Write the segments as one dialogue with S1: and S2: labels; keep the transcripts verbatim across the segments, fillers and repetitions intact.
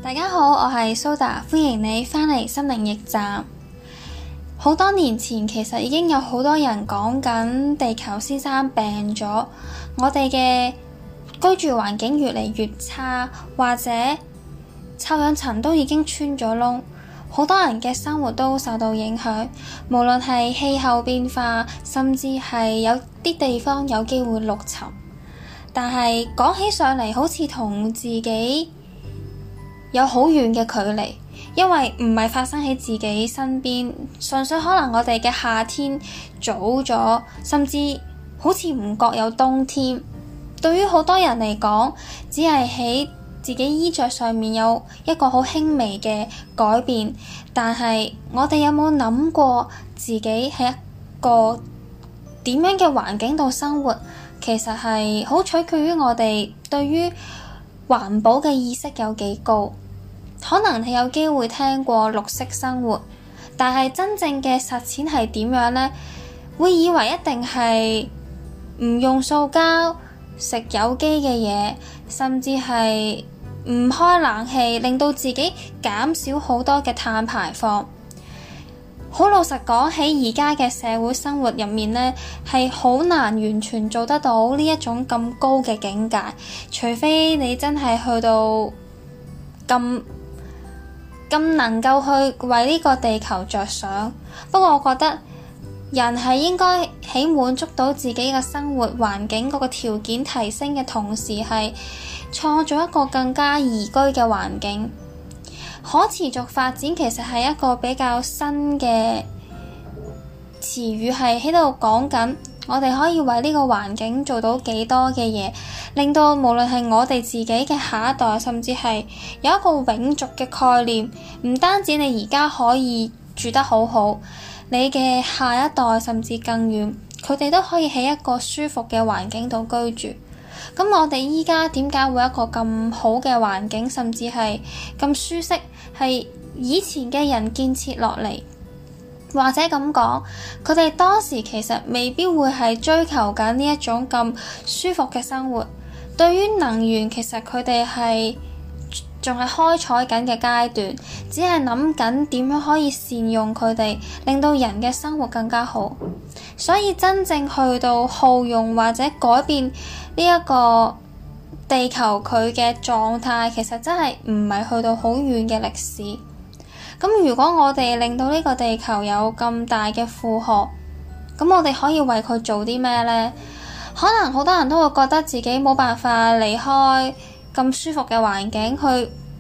S1: 大家好，我係蘇達，歡迎你返嚟心靈驛站。好多年前其實已經有好多人講緊地球先生病咗，我哋嘅居住環境越嚟越差，或者臭氧層都已經穿咗窿，好多人嘅生活都受到影響，無論係氣候變化，甚至係有啲地方有機會陸沉。但係講起上嚟，好似同自己有好遠嘅距離，因為唔係發生喺自己身邊，純粹可能我哋嘅夏天早咗，甚至好似唔覺有冬天。對於好多人嚟講，只係喺自己衣着上面有一個好輕微嘅改變，但係我哋有冇諗過自己喺一個點樣嘅環境度生活？其實係好取決於我哋對於環保嘅意識有幾高。可能你有機會聽過綠色生活，但係真正嘅實踐係點樣呢？會以為一定係唔用塑膠、食有機嘅嘢，甚至係唔開冷氣，令到自己減少好多嘅碳排放。好老實講，喺而家嘅社會生活入面呢，係好難完全做得到呢一種咁高嘅境界，除非你真係去到咁咁能夠去為呢個地球着想。不過我覺得人係應該喺滿足到自己嘅生活環境嗰個條件提升嘅同時，係創造一個更加宜居嘅環境。可持續發展其實係一個比較新嘅詞語，係喺度講緊我哋可以為呢個環境做到幾多嘅嘢，令到無論係我哋自己嘅下一代，甚至係有一個永續嘅概念。唔單止你而家可以住得好好，你嘅下一代甚至更遠，佢哋都可以喺一個舒服嘅環境度居住。咁我哋依家點解會有一個咁好嘅環境，甚至係咁舒適，係以前嘅人建設落嚟，或者咁講，佢哋當時其實未必會係追求緊呢一種咁舒服嘅生活。對於能源，其實佢哋係仲係開採緊嘅階段，只係諗緊點樣可以善用佢哋，令到人嘅生活更加好。所以真正去到耗用或者改變呢一個地球佢嘅狀態，其實真係唔係去到好遠嘅歷史。咁如果我哋令到呢個地球有咁大嘅負荷，咁我哋可以為佢做啲咩呢？可能好多人都會覺得自己冇辦法離開咁舒服嘅環境去，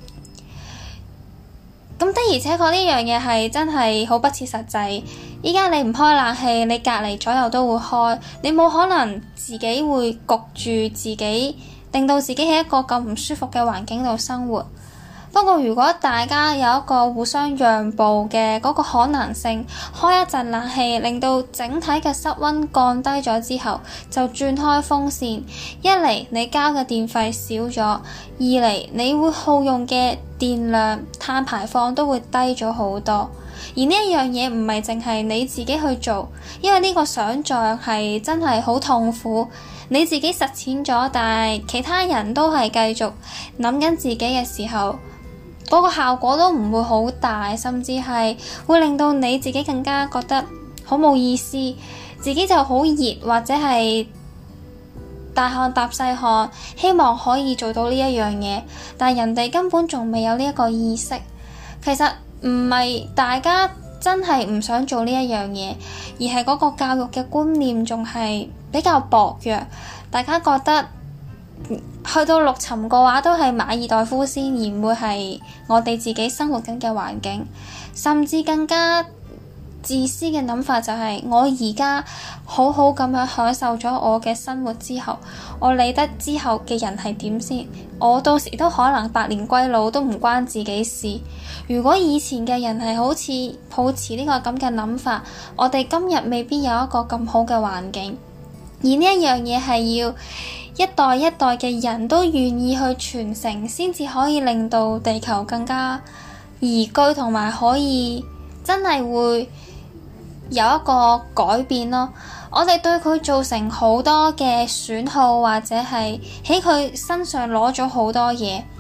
S1: 咁的而且確呢樣嘢係真係好不切實際。依家你唔開冷氣，你隔離左右都會開，你冇可能自己會焗住自己，令到自己喺一個咁唔舒服嘅環境度生活。不過如果大家有一個互相讓步嘅嗰個可能性，開一陣冷氣，令到整體嘅室溫降低咗之後，就轉開風扇。一嚟你交嘅電費少咗，二嚟你會耗用嘅電量、碳排放都會低咗好多。而呢一樣嘢唔係淨係你自己去做，因為呢個想像係真係好痛苦。你自己實踐咗，但係其他人都係繼續諗緊自己嘅時候，嗰個效果都唔會好大，甚至係會令到你自己更加覺得好冇意思，自己就好熱或者係大汗搭細汗，希望可以做到呢一樣嘢，但人哋根本仲未有呢一個意識。其實唔係大家真係唔想做呢一樣嘢，而係嗰個教育嘅觀念仲係比較薄弱。大家覺得去到陸沉嘅話，都係馬爾代夫先，而唔會係我哋自己生活緊嘅環境。甚至更加自私嘅諗法就係，我而家好好咁樣享受咗我嘅生活之後，我理得之後嘅人係點先？我到時都可能百年歸老，都唔關自己事。如果以前嘅人係好似抱持呢個咁嘅諗法，我哋今日未必有一個咁好嘅環境。而呢一樣嘢係要一代一代嘅人都願意去傳承，先至可以令到地球更加宜居，同埋可以真係會有一個改變咯。我哋對佢造成好多嘅損耗，或者係喺佢身上攞咗好多嘢，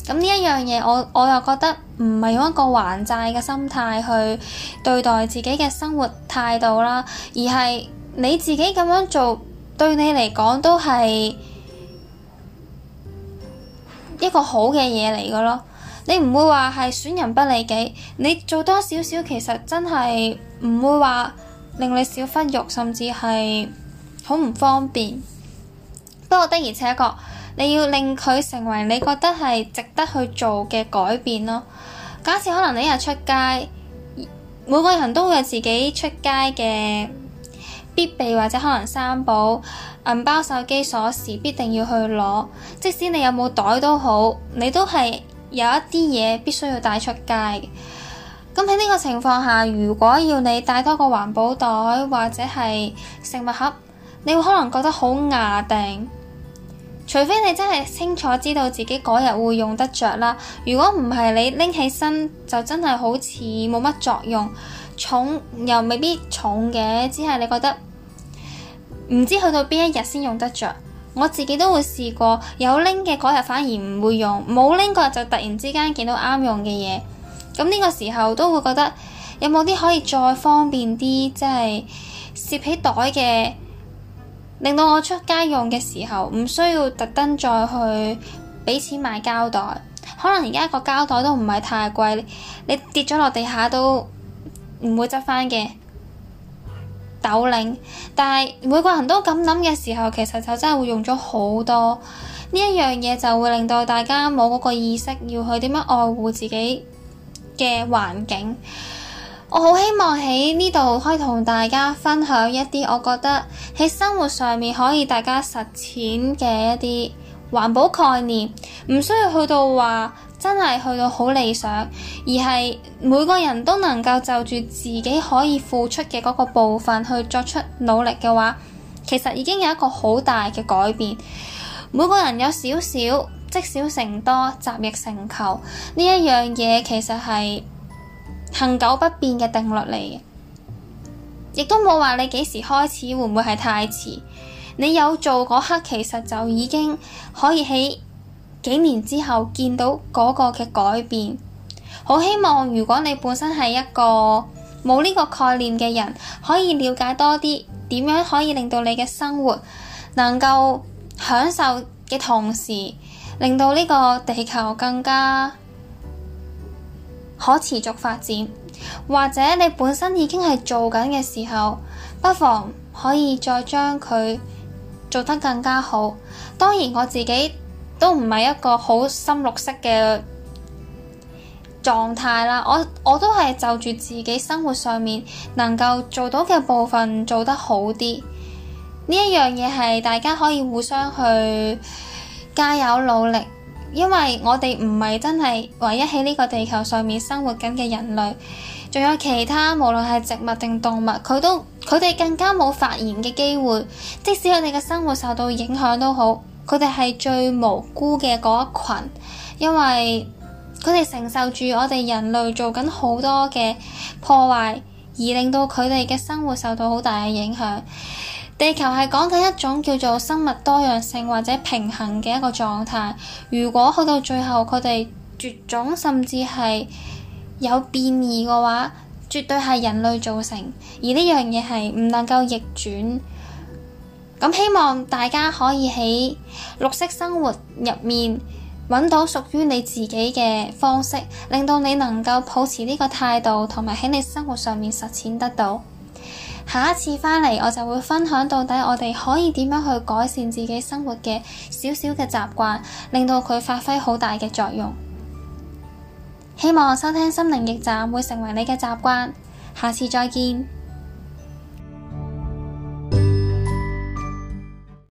S1: 咁呢一樣嘢，我我又覺得唔係用一個還債嘅心態去對待自己嘅生活態度啦，而係你自己咁樣做對你嚟講都係一個好嘅嘢嚟嘅咯。你唔會話係損人不利己，你做多少少其實真係唔會話令你少忽肉，甚至係好唔方便。不過的而且確，你要令佢成為你覺得係值得去做嘅改變咯。假設可能你一日出街，每個人都會有自己出街嘅必備或者可能三寶，銀包、手機、鎖匙必定要去攞。即使你有冇袋都好，你都係有一啲嘢必須要帶出街嘅。咁喺呢個情況下，如果要你帶多個環保袋或者係食物盒，你會可能覺得好牙定。除非你真係清楚知道自己嗰日會用得着啦，如果唔係，你拎起身就真係好似冇乜作用，重又未必重嘅，只係你覺得唔知去到邊一日先用得着。我自己都會試過，有拎嘅嗰日反而唔會用，冇拎嗰日就突然之間見到啱用嘅嘢，咁呢個時候都會覺得有冇啲可以再方便啲，即係攝起袋嘅，令到我出街用嘅時候唔需要特登再去俾錢買膠袋。可能而家個膠袋都唔係太貴，你跌咗落地下都唔會執返嘅斗零。但係每個人都咁諗嘅時候，其實就真係會用咗好多。呢一樣嘢就會令到大家冇嗰個意識要去點樣愛護自己嘅環境。我好希望喺呢度可以同大家分享一啲我覺得喺生活上面可以大家實踐嘅一啲環保概念，唔需要去到話真係去到好理想，而係每個人都能夠就住自己可以付出嘅嗰個部分去作出努力嘅話，其實已經有一個好大嘅改變。每個人有少少，積少成多，集腋成裘，呢一樣嘢其實係恆久不變嘅定律嚟嘅，亦都冇話你幾時開始會唔會係太遲。你有做嗰刻，其實就已經可以喺幾年之後見到嗰個嘅改變。好希望如果你本身係一個冇呢個概念嘅人，可以了解多啲點樣可以令到你嘅生活能夠享受嘅同時，令到呢個地球更加可持續發展。或者你本身已經係做緊嘅時候，不妨可以再將佢做得更加好。當然我自己都唔係一個好深綠色嘅狀態啦，我我都係就住自己生活上面能夠做到嘅部分做得好啲。呢一樣嘢係大家可以互相去加油努力，因為我哋唔係真係唯一喺呢個地球上面生活緊嘅人類，仲有其他無論係植物定動物，佢都佢哋更加冇發言嘅機會。即使佢哋嘅生活受到影響都好，佢哋係最無辜嘅嗰一群，因為佢哋承受住我哋人類做緊好多嘅破壞，而令到佢哋嘅生活受到好大嘅影響。地球係講緊一種叫做生物多樣性或者平衡嘅一個狀態。如果去到最後佢哋絕種甚至係有變異嘅話，絕對係人類造成，而呢樣嘢係唔能夠逆轉。咁希望大家可以喺綠色生活入面揾到屬於你自己嘅方式，令到你能夠抱持呢個態度，同埋喺你生活上面實踐得到。下一次返嚟，我就會分享到底我哋可以點樣去改善自己生活嘅小小嘅習慣，令到佢發揮好大嘅作用。希望收聽心靈驛站會成為你嘅習慣，下次再見。